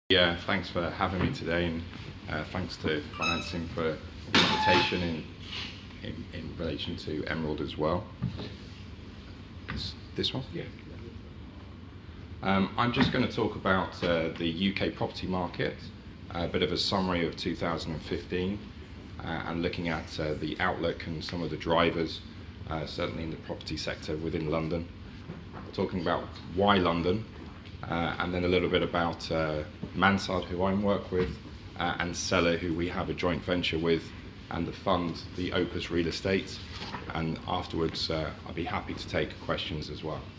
Yeah, thanks for having me today, and thanks to Financing for the invitation in relation to Emerald as well. This one? Yeah. I'm just going to talk about the UK property market, a bit of a summary of 2015, and looking at the outlook and some of the drivers, certainly in the property sector within London. Talking about why London, and then a little bit about Mansard, who I work with, and Seller, who we have a joint venture with, and the fund, the Opus Real Estate. And afterwards, I'll be happy to take questions as well.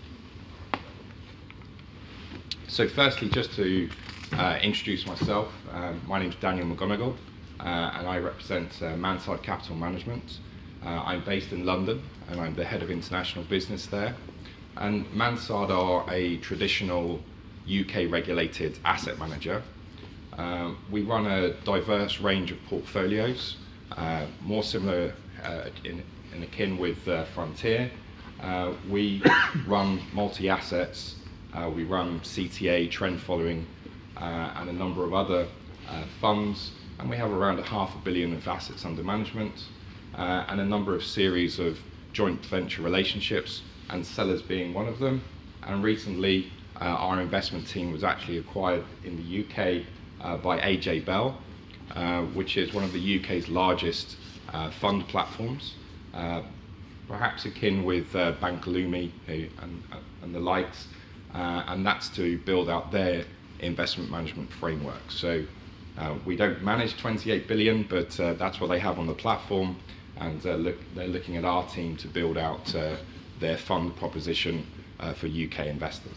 So firstly, just to introduce myself, my name is Daniel McGonigal, and I represent Mansard Capital Management. I'm based in London, and I'm the head of international business there. And Mansard are a traditional UK regulated asset manager. We run a diverse range of portfolios, more similar in akin with Frontier. We run multi-assets, we run CTA, trend following, and a number of other funds, and we have around £500 million of assets under management, and a number of series of joint venture relationships, and Sellers being one of them. And recently our investment team was actually acquired in the UK by AJ Bell, which is one of the UK's largest fund platforms, perhaps akin with Bankalumi and the likes, and that's to build out their investment management framework. So we don't manage 28 billion, but that's what they have on the platform, and they're looking at our team to build out their fund proposition for UK investors.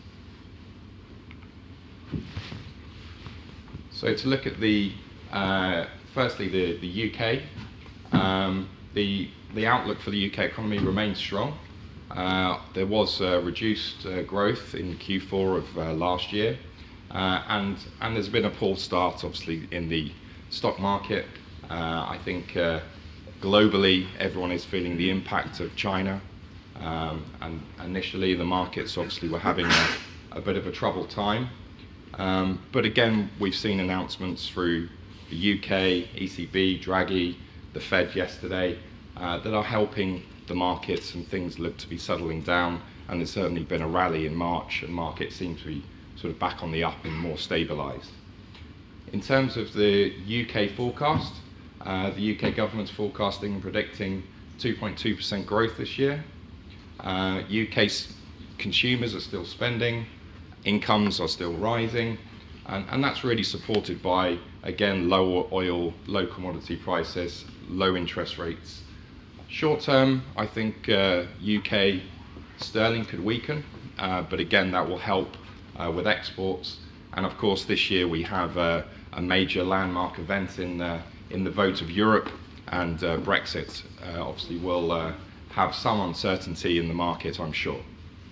So to look at the firstly the UK, the outlook for the UK economy remains strong. There was reduced growth in Q4 of last year, and there's been a poor start, obviously, in the stock market. I think globally everyone is feeling the impact of China, and initially the markets obviously were having a bit of a troubled time. But again, we've seen announcements through the UK, ECB, Draghi, the Fed yesterday, that are helping the markets, and things look to be settling down. And there's certainly been a rally in March, and markets seem to be sort of back on the up and more stabilised. In terms of the UK forecast, the UK government's forecasting and predicting 2.2% growth this year. UK consumers are still spending, incomes are still rising, and that's really supported by, again, lower oil, low commodity prices, low interest rates. Short term, I think UK sterling could weaken, but again, that will help with exports. And of course, this year we have a major landmark event in the vote of Europe, and Brexit obviously will have some uncertainty in the market, I'm sure.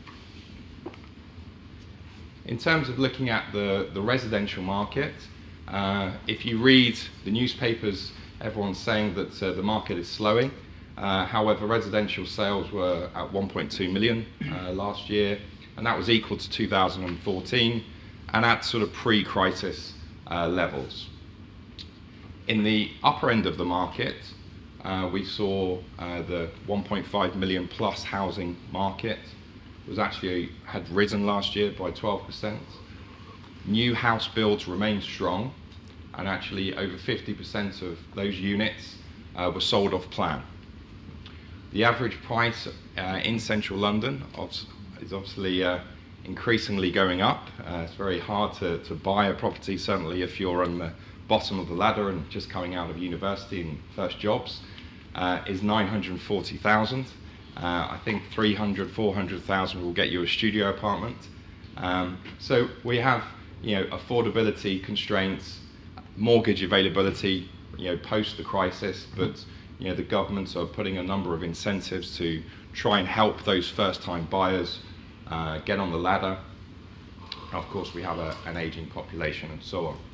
In terms of looking at the residential market, if you read the newspapers, everyone's saying that the market is slowing. However, residential sales were at 1.2 million last year, and that was equal to 2014, and at sort of pre-crisis levels. In the upper end of the market, we saw the 1.5 million plus housing market had risen last year by 12%. New house builds remained strong, and actually over 50% of those units were sold off plan. The average price in central London is obviously increasingly going up. It's very hard to buy a property, certainly if you're on the bottom of the ladder and just coming out of university and first jobs, is 940,000. I think 300, 400,000 will get you a studio apartment. So we have, affordability constraints, mortgage availability, post the crisis, but the governments are putting a number of incentives to try and help those first-time buyers get on the ladder. Of course, we have an aging population and so on.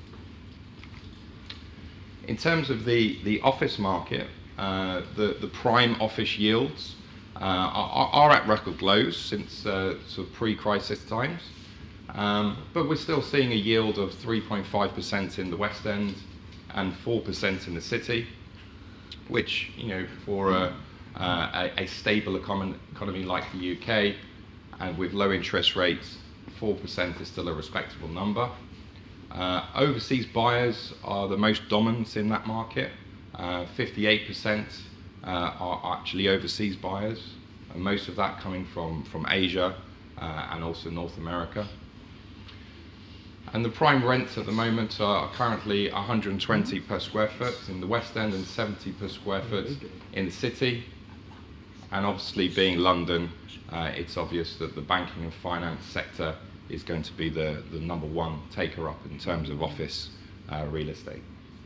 In terms of the office market, the prime office yields are at record lows since sort of pre-crisis times. But we're still seeing a yield of 3.5% in the West End and 4% in the city, which, for a stable economy like the UK, and with low interest rates, 4% is still a respectable number. Overseas buyers are the most dominant in that market. 58% are actually overseas buyers, and most of that coming from Asia and also North America. And the prime rents at the moment are currently 120 per square foot in the West End and 70 per square foot in the city. And obviously, being London, it's obvious that the banking and finance sector is going to be the number one taker-up in terms of office real estate.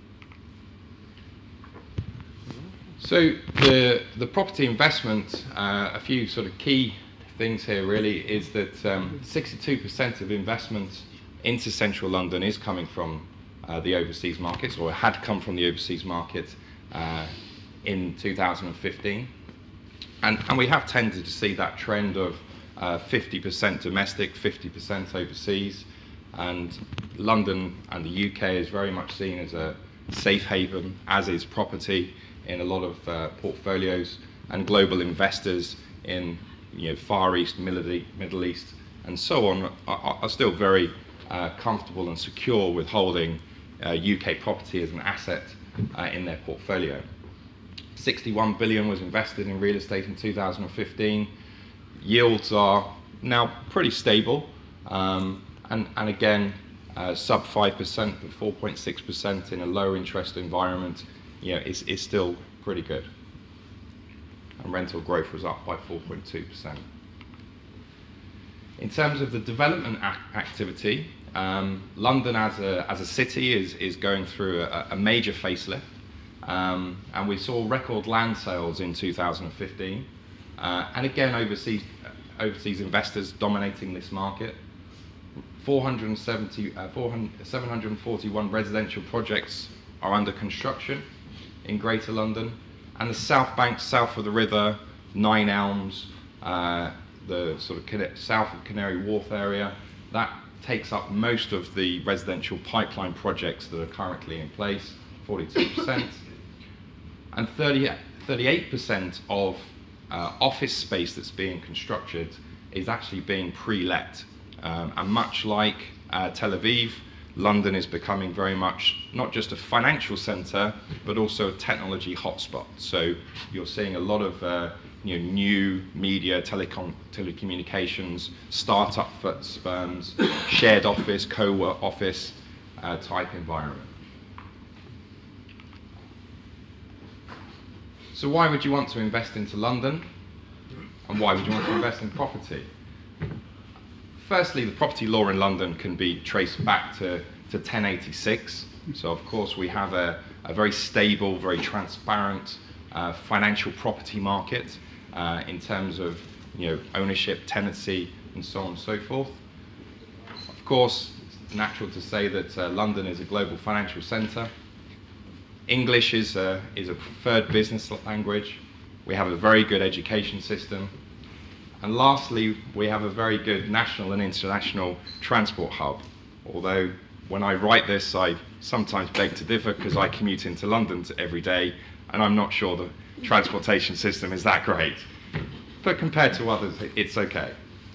So the property investment, a few sort of key things here really is that 62% of investment into central London is coming from the overseas markets, or had come from the overseas market in 2015. And we have tended to see that trend of 50% domestic, 50% overseas, and London and the UK is very much seen as a safe haven, as is property in a lot of portfolios, and global investors in Far East, Middle East, and so on are still very comfortable and secure with holding UK property as an asset in their portfolio. 61 billion was invested in real estate in 2015. Yields are now pretty stable, and again, sub 5%, but 4.6% in a low interest environment, is still pretty good. And rental growth was up by 4.2%. In terms of the development activity, London as a city is going through a major facelift. And we saw record land sales in 2015, and again overseas investors dominating this market. 741 residential projects are under construction in Greater London, and the South Bank, south of the river, Nine Elms, the sort of south of Canary Wharf area, that takes up most of the residential pipeline projects that are currently in place, 42%. And 38% of office space that's being constructed is actually being pre-let. And much like Tel Aviv, London is becoming very much not just a financial centre, but also a technology hotspot. So you're seeing a lot of new media, telecommunications, startup firms, shared office, co-work office type environment. So why would you want to invest into London? And why would you want to invest in property? Firstly, the property law in London can be traced back to 1086. So of course we have a very stable, very transparent financial property market in terms of ownership, tenancy, and so on and so forth. Of course, it's natural to say that London is a global financial centre. English is a preferred business language. We have a very good education system. And lastly, we have a very good national and international transport hub. Although when I write this, I sometimes beg to differ because I commute into London every day, and I'm not sure the transportation system is that great. But compared to others, it's okay.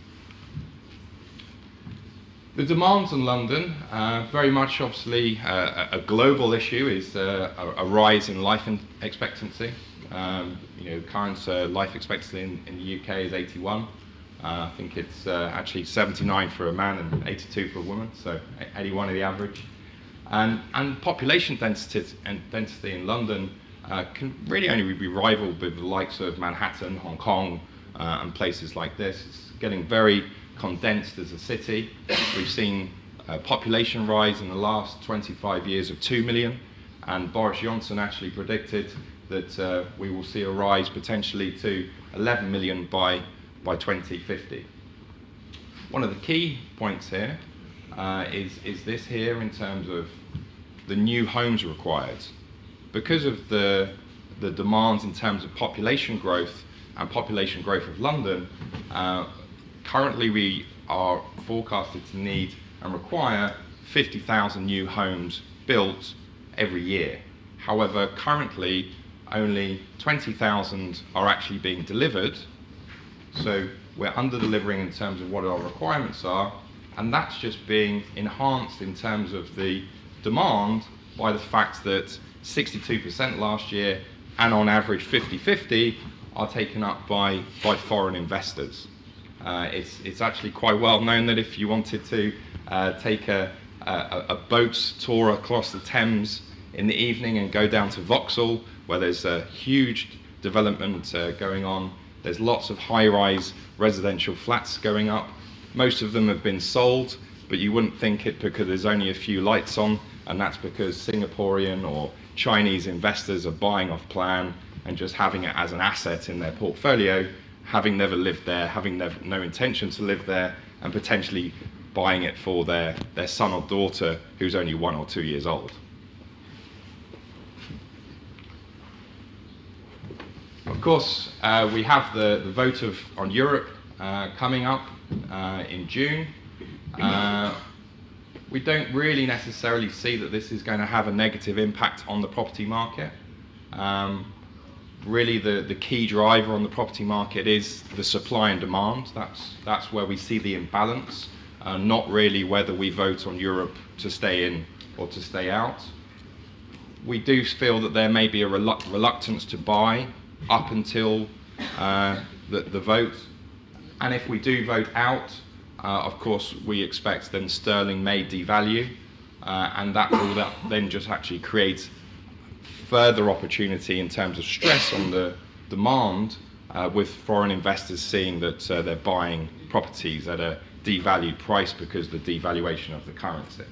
The demands in London, very much obviously a global issue, is a rise in life expectancy. Current life expectancy in the UK is 81. I think it's actually 79 for a man and 82 for a woman, so 81 is the average. And population density in London can really only be rivaled with the likes of Manhattan, Hong Kong, and places like this. It's getting very condensed as a city. We've seen population rise in the last 25 years of 2 million, and Boris Johnson actually predicted that we will see a rise potentially to 11 million by 2050. One of the key points here is this here in terms of the new homes required. Because of the demands in terms of population growth and population growth of London, currently we are forecasted to need and require 50,000 new homes built every year. However, currently only 20,000 are actually being delivered, so we're under-delivering in terms of what our requirements are, and that's just being enhanced in terms of the demand by the fact that 62% last year, and on average 50-50, are taken up by foreign investors. It's actually quite well known that if you wanted to take a boat tour across the Thames in the evening and go down to Vauxhall, where there's a huge development going on, there's lots of high-rise residential flats going up. Most of them have been sold, but you wouldn't think it because there's only a few lights on, and that's because Singaporean or Chinese investors are buying off plan and just having it as an asset in their portfolio, having never lived there, having no intention to live there, and potentially buying it for their son or daughter who's only 1 or 2 years old. Of course, we have the vote on Europe coming up in June. We don't really necessarily see that this is going to have a negative impact on the property market. Really, the key driver on the property market is the supply and demand. That's where we see the imbalance, not really whether we vote on Europe to stay in or to stay out. We do feel that there may be a reluctance to buy up until the vote, and if we do vote out, of course we expect then sterling may devalue, and that will then just actually create further opportunity in terms of stress on the demand, with foreign investors seeing that they're buying properties at a devalued price because of the devaluation of the currency.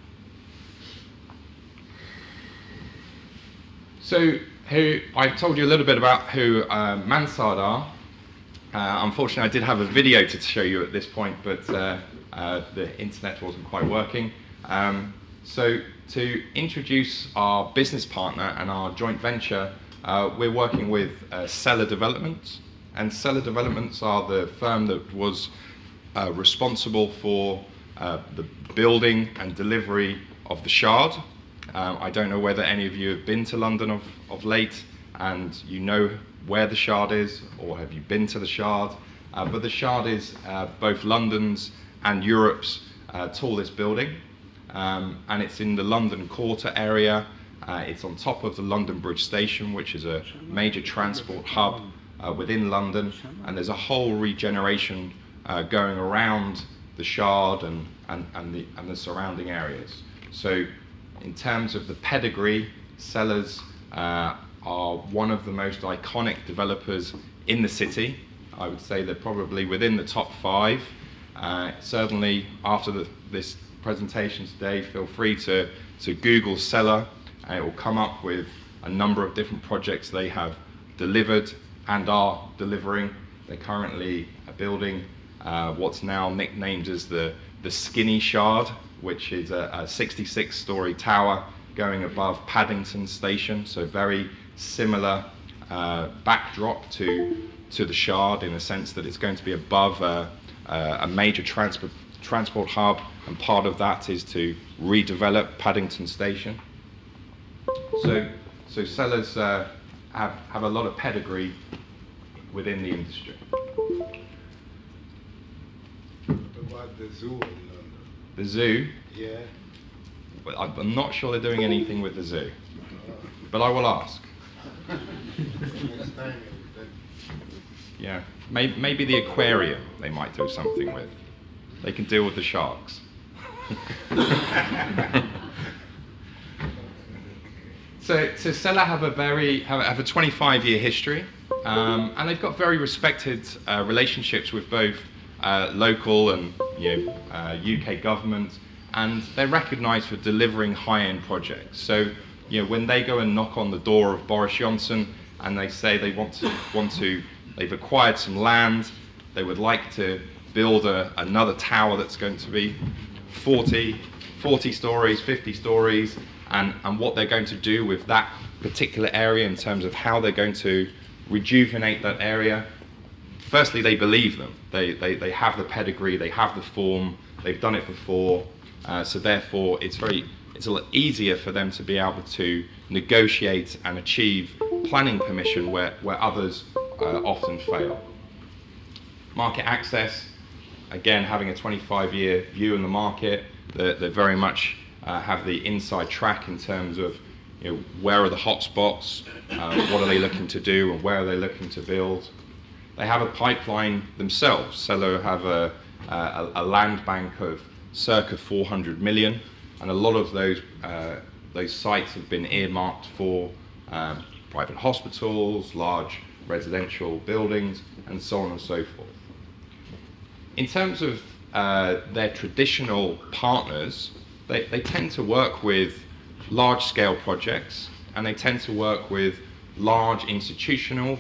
So I've told you a little bit about who Mansard are. Unfortunately, I did have a video to show you at this point, but the internet wasn't quite working. So to introduce our business partner and our joint venture, we're working with Cellar Developments, and Cellar Developments are the firm that was responsible for the building and delivery of the Shard. I don't know whether any of you have been to London of late and you know where the Shard is, or have you been to the Shard, but the Shard is both London's and Europe's tallest building, and it's in the London Quarter area. It's on top of the London Bridge Station, which is a major transport hub within London, and there's a whole regeneration going around the Shard and the surrounding areas. So in terms of the pedigree, Cellars are one of the most iconic developers in the city. I would say they're probably within the top 5. Certainly after this presentation today, feel free to Google Cellar, and it will come up with a number of different projects they have delivered and are delivering. They're currently building what's now nicknamed as the Skinny Shard, which is a 66-story tower going above Paddington Station, so very similar backdrop to the Shard in a sense that it's going to be above a major transport hub, and part of that is to redevelop Paddington Station. So Cellars have a lot of pedigree within the industry. What about the zoo in London? The zoo? Yeah. Well, I'm not sure they're doing anything with the zoo, but I will ask. Next time, Yeah, maybe the aquarium they might do something with. They can deal with the sharks. So Cellar have a 25-year history, and they've got very respected relationships with both local and UK government, and they're recognised for delivering high-end projects. So when they go and knock on the door of Boris Johnson and they say they want to, they've acquired some land, they would like to build another tower that's going to be 40 stories, 50 stories, and what they're going to do with that particular area in terms of how they're going to rejuvenate that area. firstly, they believe them. They have the pedigree, they have the form, they've done it before, so therefore it's a lot easier for them to be able to negotiate and achieve planning permission where others often fail. Market access, again, having a 25-year view in the market, they very much have the inside track in terms of, you know, where are the hotspots, what are they looking to do, and where are they looking to build. They have a pipeline themselves, so they have a land bank of circa 400 million, and a lot of those sites have been earmarked for private hospitals, large residential buildings, and so on and so forth. In terms of their traditional partners, they tend to work with large-scale projects, and they tend to work with large institutions,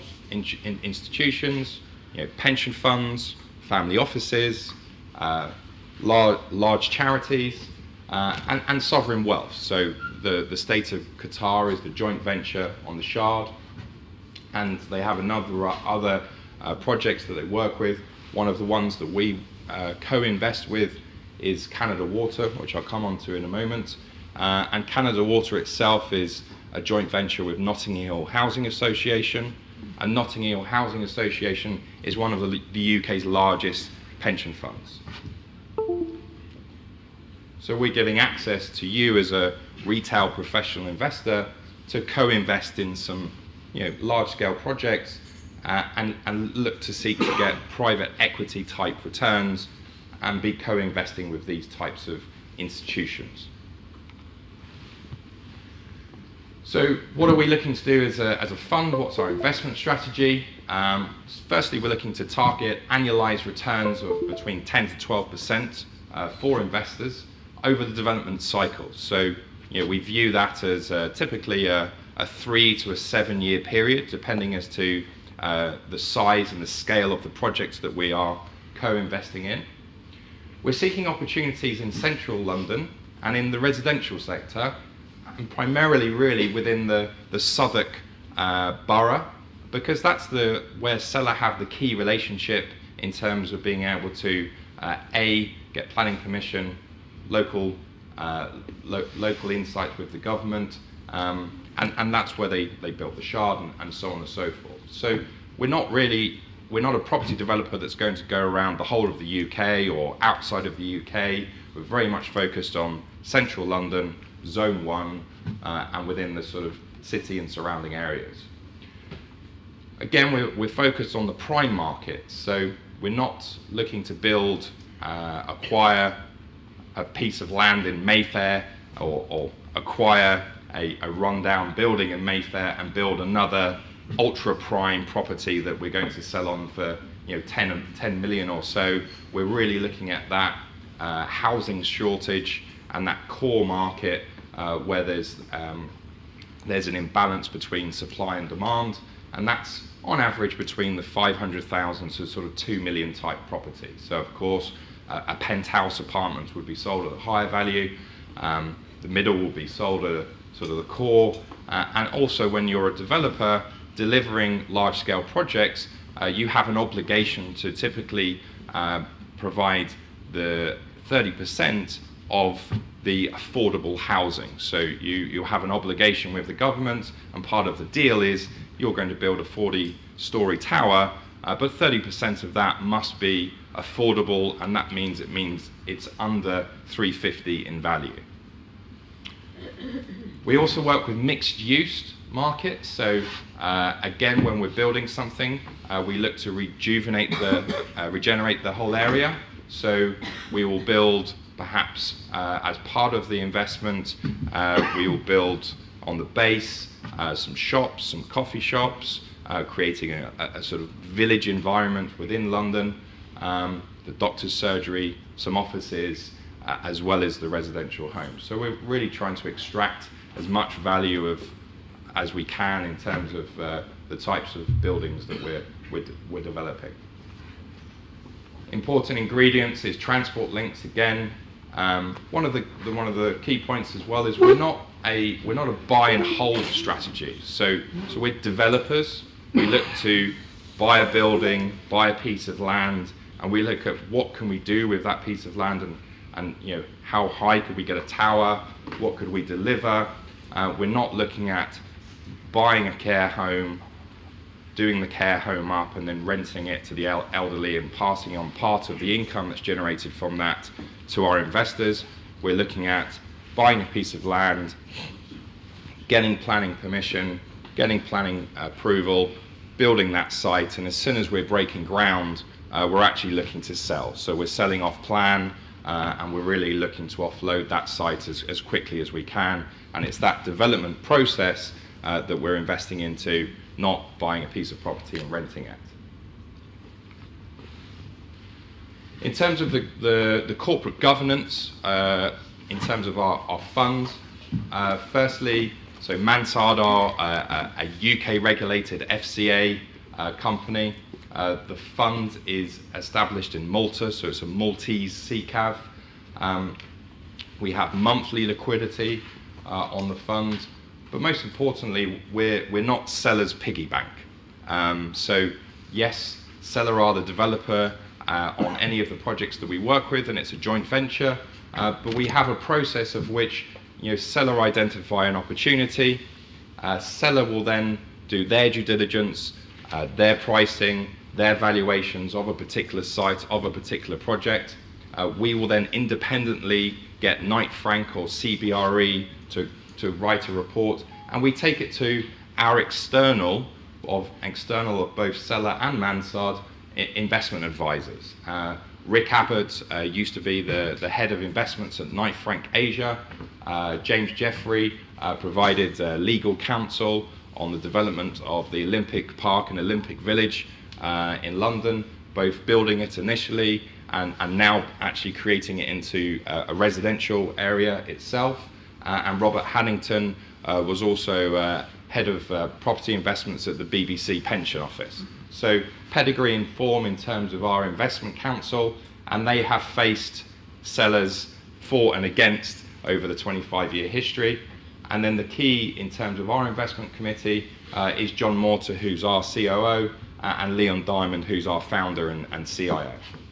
you know, pension funds, family offices, large charities, and sovereign wealth. So the state of Qatar is the joint venture on the Shard, and they have other projects that they work with. One of the ones that we co-invest with is Canada Water, which I'll come on to in a moment. And Canada Water itself is a joint venture with Notting Hill Housing Association. And Notting Hill Housing Association is one of the UK's largest pension funds. So we're giving access to you as a retail professional investor to co-invest in some, you know, large-scale projects and look to seek to get private equity type returns and be co-investing with these types of institutions. So what are we looking to do as a fund? What's our investment strategy? Firstly, we're looking to target annualized returns of between 10 to 12% for investors over the development cycle. So, you know, we view that as typically a 3 to a 7 year period, depending as to the size and the scale of the projects that we are co-investing in. We're seeking opportunities in central London and in the residential sector, and primarily really within the Southwark borough, because that's where Cella have the key relationship in terms of being able to get planning permission, local insight with the government, and that's where they built the Shard and so on and so forth. So we're not a property developer that's going to go around the whole of the UK or outside of the UK. We're very much focused on central London, Zone 1, and within the sort of city and surrounding areas. Again, we're focused on the prime market, so we're not looking to acquire a piece of land in Mayfair or acquire a rundown building in Mayfair and build another ultra prime property that we're going to sell on for, you know, 10 million or so. We're really looking at that housing shortage and that core market where there's an imbalance between supply and demand, and that's on average between the 500,000 to sort of 2 million type property. So of course a penthouse apartment would be sold at a higher value, the middle will be sold at sort of the core, and also when you're a developer delivering large-scale projects, you have an obligation to typically provide the 30% of the affordable housing. So you have an obligation with the government, and part of the deal is you're going to build a 40-story tower, but 30% of that must be affordable, and that means it's under 350 in value. We also work with mixed-use markets. So again, when we're building something, we look to regenerate the whole area. So we will build, perhaps as part of the investment, we will build on the base some shops, some coffee shops, creating a sort of village environment within London, the doctor's surgery, some offices, as well as the residential homes. So we're really trying to extract as much value as we can in terms of the types of buildings that we're developing. Important ingredients is transport links again. One of the key points as well is we're not a buy and hold strategy. So we're developers. We look to buy a building, buy a piece of land, and we look at what can we do with that piece of land, and you know, how high could we get a tower, what could we deliver. We're not looking at buying a care home, doing the care home up and then renting it to the elderly and passing on part of the income that's generated from that to our investors. We're looking at buying a piece of land, getting planning permission, getting planning approval, building that site, and as soon as we're breaking ground, we're actually looking to sell. So we're selling off plan, and we're really looking to offload that site as quickly as we can. And it's that development process that we're investing into, not buying a piece of property and renting it. In terms of the corporate governance, in terms of our funds, firstly, so Mansard are a UK regulated FCA company. The fund is established in Malta, so it's a Maltese SICAV. We have monthly liquidity on the fund, but most importantly, we're not seller's piggy bank. So yes, seller are the developer on any of the projects that we work with, and it's a joint venture, but we have a process of which, you know, seller identify an opportunity, seller will then do their due diligence, their pricing, their valuations of a particular site, of a particular project. We will then independently get Knight Frank or CBRE to write a report, and we take it to our external of both seller and Mansard investment advisors. Rick Abbott used to be the head of investments at Knight Frank Asia. James Jeffrey provided legal counsel on the development of the Olympic Park and Olympic Village in London, both building it initially and now actually creating it into a residential area itself. And Robert Hannington was also head of property investments at the BBC Pension Office. So pedigree and form in terms of our investment counsel, and they have faced sellers for and against over the 25-year history. And then the key in terms of our investment committee is John Mortar, who's our COO, and Leon Diamond, who's our founder and CIO.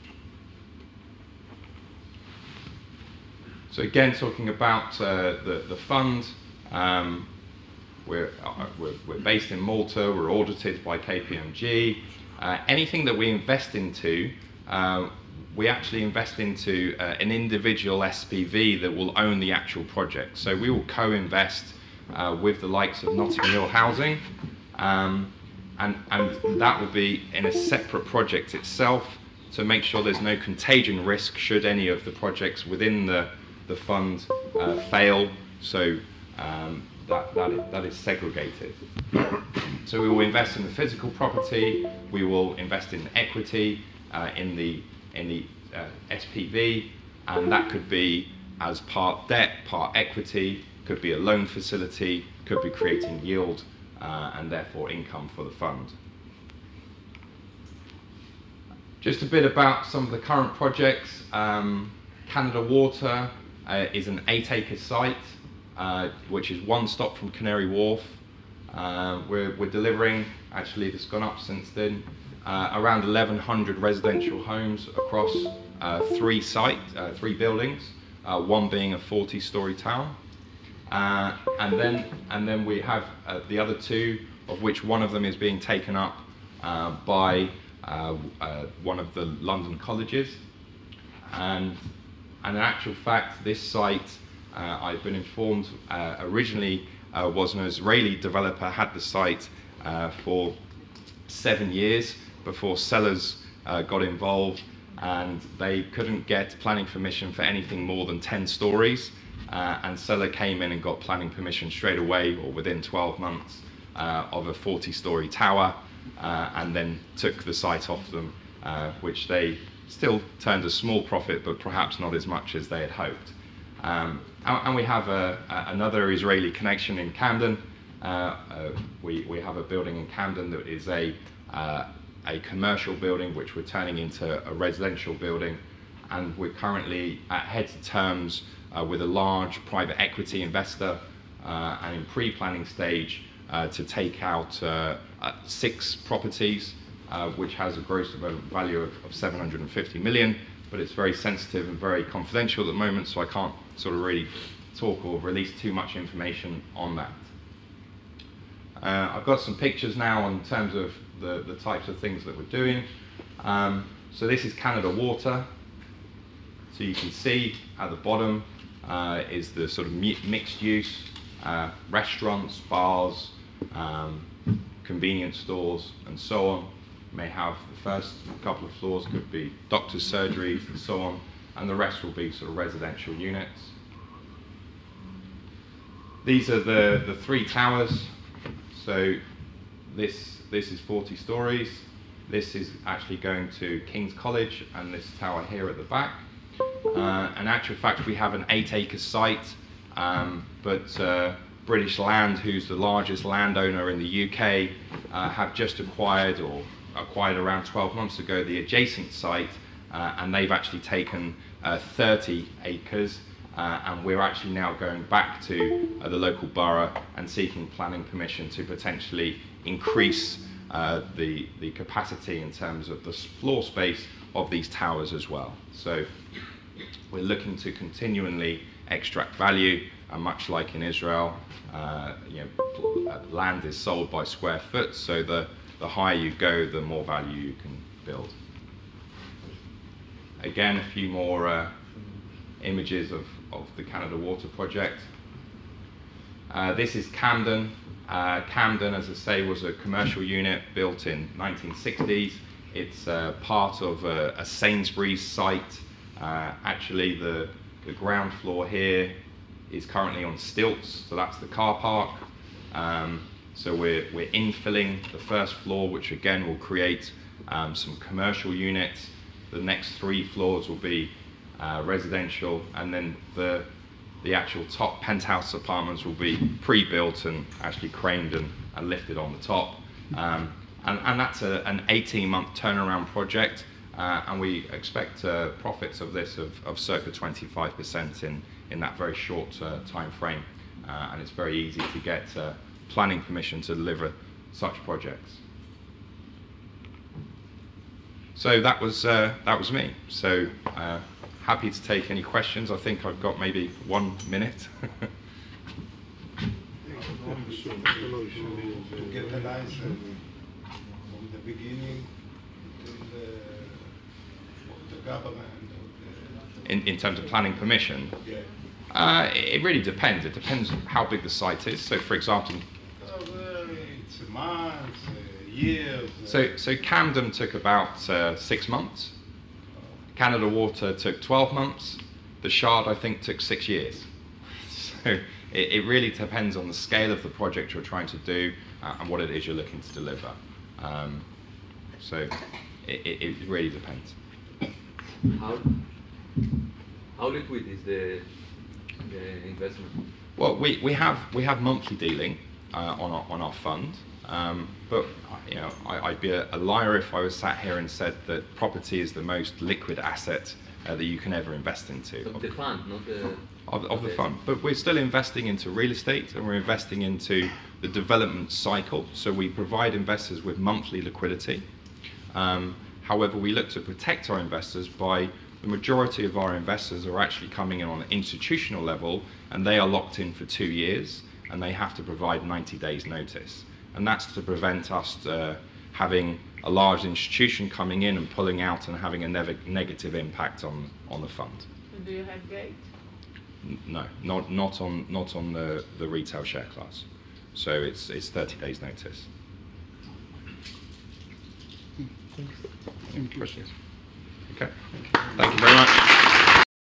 So again, talking about the fund, we're based in Malta, we're audited by KPMG. Anything that we invest into, we actually invest into an individual SPV that will own the actual project. So we will co-invest with the likes of Notting Hill Housing, and that will be in a separate project itself to make sure there's no contagion risk should any of the projects within the fund fail. So that is segregated. So we will invest in the physical property, we will invest in equity in the SPV, and that could be as part debt, part equity, could be a loan facility, could be creating yield and therefore income for the fund. Just a bit about some of the current projects. Canada Water is an 8-acre site, which is one stop from Canary Wharf. We're delivering, actually it's gone up since then, around 1,100 residential homes across three buildings, one being a 40-story tower. And then we have the other two, of which one of them is being taken up by one of the London colleges. And in actual fact, this site, I've been informed, originally was an Israeli developer, had the site for 7 years before sellers got involved, and they couldn't get planning permission for anything more than 10 stories. And seller came in and got planning permission straight away, or within 12 months, of a 40-story tower, and then took the site off them, which they still turned a small profit, but perhaps not as much as they had hoped. And we have another Israeli connection in Camden. We have a building in Camden that is a commercial building which we're turning into a residential building, and we're currently at heads of terms with a large private equity investor and in pre-planning stage to take out 6 properties which has a gross value of 750 million, but it's very sensitive and very confidential at the moment, so I can't sort of really talk or release too much information on that. I've got some pictures now in terms of the types of things that we're doing. So this is Canada Water. So you can see at the bottom is the sort of mixed use restaurants, bars, convenience stores, and so on. May have the first couple of floors could be doctor's surgeries and so on, and the rest will be sort of residential units. These are the three towers. So this is 40 stories. This is actually going to King's College, and this tower here at the back. In actual fact, we have an 8-acre site, but British Land, who's the largest landowner in the UK, have just acquired around 12 months ago the adjacent site, and they've actually taken 30 acres, and we're actually now going back to the local borough and seeking planning permission to potentially increase the capacity in terms of the floor space of these towers as well. So we're looking to continually extract value, and much like in Israel, land is sold by square foot, so the higher you go, the more value you can build. Again, a few more images of the Canada Water project. This is Camden. Camden, as I say, was a commercial unit built in 1960s. It's part of a Sainsbury's site. Actually, the ground floor here is currently on stilts, so that's the car park. So we're infilling the first floor, which again will create some commercial units. The next 3 floors will be residential, and then the actual top penthouse apartments will be pre-built and actually craned and lifted on the top. And that's an 18-month turnaround project, and we expect profits of this of circa 25% in that very short time frame. And it's very easy to get planning permission to deliver such projects. So that was me. So happy to take any questions. I think I've got maybe 1 minute. To get the license from the beginning till the government. In terms of planning permission, Yeah. it really depends. It depends how big the site is. So, for example, It's months, years. so Camden took about 6 months. Canada Water took 12 months. The Shard, I think, took 6 years. So it really depends on the scale of the project you're trying to do and what it is you're looking to deliver. So it really depends. How liquid is the investment? Well, we have monthly dealing on our fund, but I'd be a liar if I was sat here and said that property is the most liquid asset that you can ever invest into. Of the fund, not the... Of the fund. But we're still investing into real estate, and we're investing into the development cycle. So we provide investors with monthly liquidity. However, we look to protect our investors by the majority of our investors are actually coming in on an institutional level, and they are locked in for 2 years, and they have to provide 90 days notice. And that's to prevent us having a large institution coming in and pulling out and having a negative impact on the fund. Do you have gate? No, not on the retail share class. So it's 30 days notice. Any questions? Okay. Thank you very much.